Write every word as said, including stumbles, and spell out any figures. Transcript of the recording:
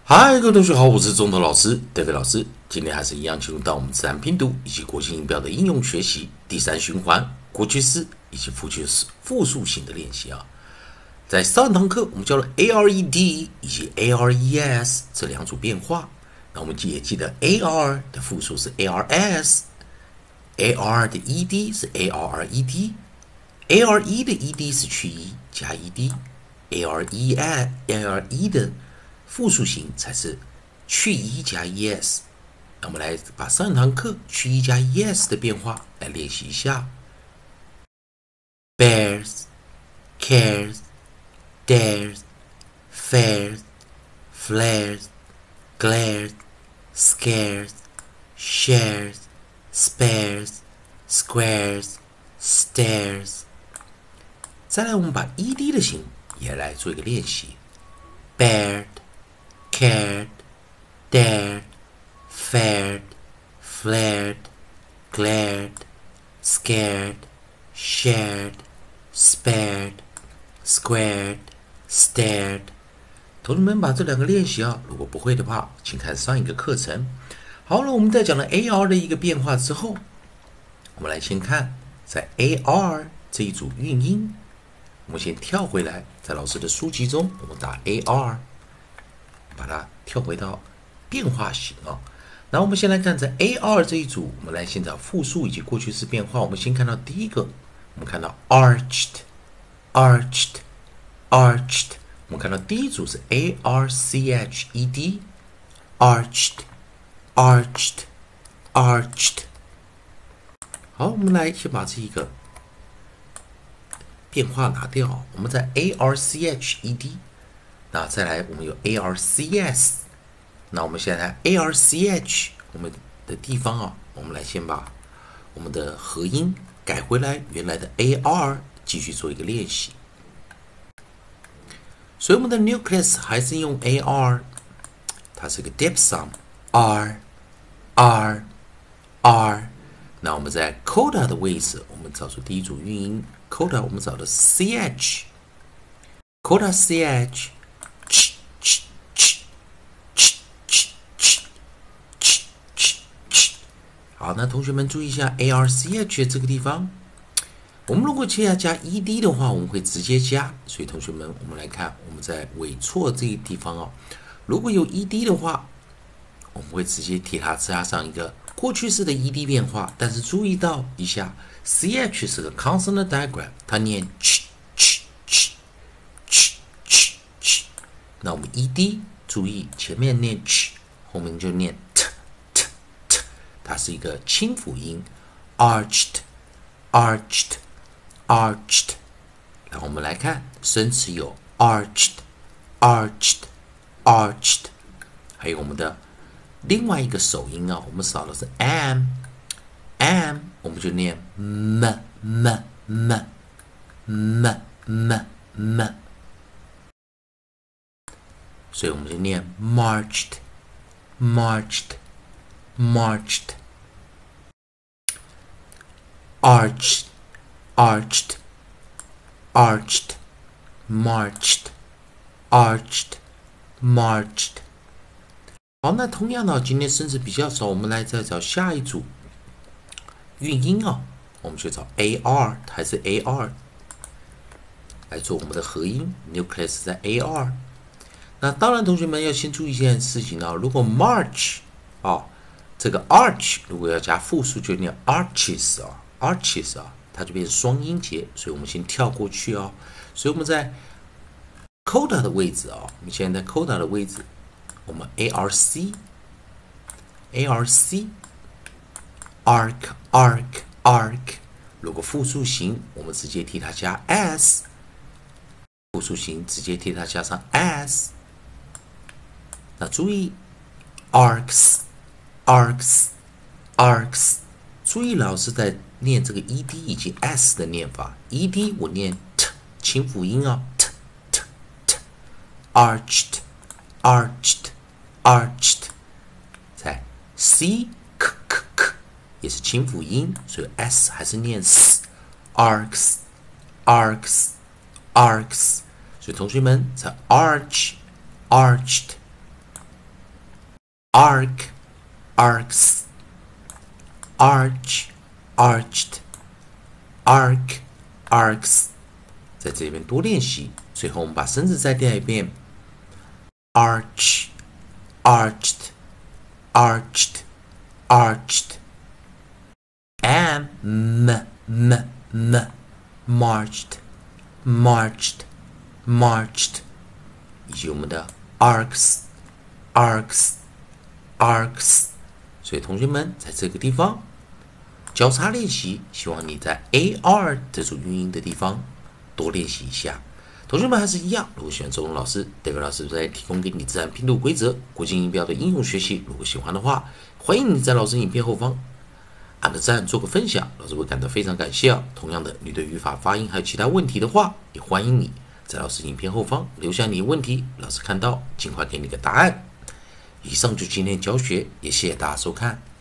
嗨，各位同学好，我是中头老师 David 老师。今天还是一样进入到我们自然拼读以及国际音标的应用学习第三循环过去式以及复数式复数型的练习啊。在上堂课我们教了 A R E D 以及 A R E S 这两组变化，那我们也记得 A R 的复数是 A R S，A R 的 E D 是 A R E D，A R E 的 E D 是去 E 加 E D，A R E A R E 的复数型才是去 E 加 es。那我们来把上堂课去 E 加 es 的变化来练习一下。Bears, cares, dares, fares, flares, glares, scares, shares, spares, squares, stares。再来，我们把 ed 的型也来做一个练习。Bared, cared, dared, fared, flared, glared, scared, shared, spared, squared, stared。同学们把这两个练习啊，如果不会的话，请看上一个课程。好了，我们在讲了 A R 的一个变化之后，我们来先看在 A R 这一组韵音，我们先跳回来，在老师的书籍中，我们打 A R。把它跳回到变化型啊。然后我们先来看在 A R 这一组，我们来先找复数以及过去式变化。我们先看到第一个，我们看到 arched, arched, arched。我们看到第一组是 A R C H E D, arched, arched, arched。好，我们来先把这一个变化拿掉。我们在 A R C H E D。那再来，我们有 A R C S， 那我们现在 A R C H 我们的地方啊，我们来先把我们的合音改回来，原来的 A R 继续做一个练习。所以我们的 nucleus 还是用 A R， 它是个 diphthong R R R。那我们在 coda 的位置，我们找出第一组韵音 coda， 我们找的 C H coda C H。好，那同学们注意一下 A R C H 这个地方，我们如果接下来加 E D 的话，我们会直接加。所以同学们，我们来看我们在尾错这个地方哦，如果有 E D 的话，我们会直接替它加上一个过去式的 E D 变化。但是注意到一下 ，C H 是个 consonant diagram， 它念 ch ch ch ch ch ch。那我们 E D 注意前面念 ch， 后面就念 t。它是一个清辅音 ，arched, arched, arched。然后我们来看生词有 arched, arched, arched， 还有我们的另外一个首音啊，我们少的是 am, am， 我们就念 m m m m m m， 所以我们就念 marched, marched, marched。Arched, arched, arched, marched, arched, marched。好，那同样的，今天生词比较少，我们来再找下一组韵音啊，我们去找 A R 还是 A R 来做我们的合音 ，nucleus 在 A R。那当然，同学们要先注意一件事情啊，如果 march 啊，这个 arch 如果要加复数，就念 arches 啊。arches 啊，它就变成双音节，所以我们先跳过去哦。所以我们在 coda 的位置啊，我们现在在 coda 的位置，我们 A R C A R C arc arc arc。如果复数型，我们直接替它加 s， 复数型直接替它加上 s。那注意 arcs arcs arcs。注意老师在念这个 E D 以及 S 的念法 ，E D 我念 t 清辅音啊 ，t t t arched arched arched。在 C k k k 也是清辅音，所以 S 还是念 s arcs arcs arcs。所以同学们在 arch arched arc, arcs, arch, arched, arc, arcs。在这边多练习。最后我们把声字再念一遍 ：arch, arched, arched, arched。and m m m marched, marched, marched。以及我们的 arcs, arcs, arcs。所以同学们在这个地方交叉练习，希望你在 A R 这组韵音的地方多练习一下。同学们还是一样，如果喜欢周文老师，David老师在提供给你自然拼读规则、国际音标的应用学习。如果喜欢的话，欢迎你在老师影片后方按个赞，做个分享，老师会感到非常感谢啊。同样的，你对语法、发音还有其他问题的话，也欢迎你在老师影片后方留下你的问题，老师看到尽快给你个答案。以上就今天教学，也谢谢大家收看。